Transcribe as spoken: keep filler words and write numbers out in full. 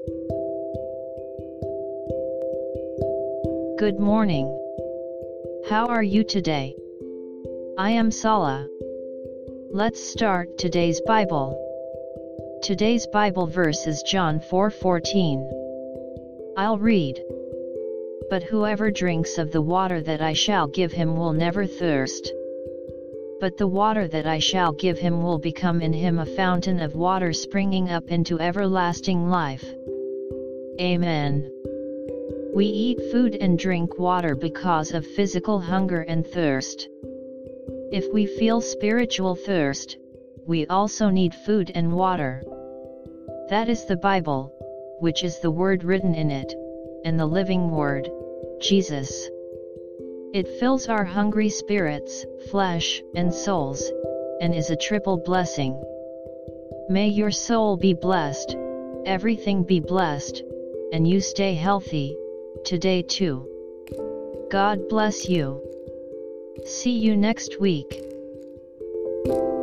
Good morning. How are you today? I am Sala. Let's start today's Bible. Today's Bible verse is John four fourteen. I'll read. But whoever drinks of the water that I shall give him will never thirst. But the water that I shall give him will become in him a fountain of water springing up into everlasting life. Amen. We eat food and drink water because of physical hunger and thirst. If we feel spiritual thirst, we also need food and water. That is the Bible, which is the word written in it, and the living word, Jesus. It fills our hungry spirits, flesh, and souls, and is a triple blessing. May your soul be blessed, everything be blessed, and you stay healthy, today too. God bless you. See you next week.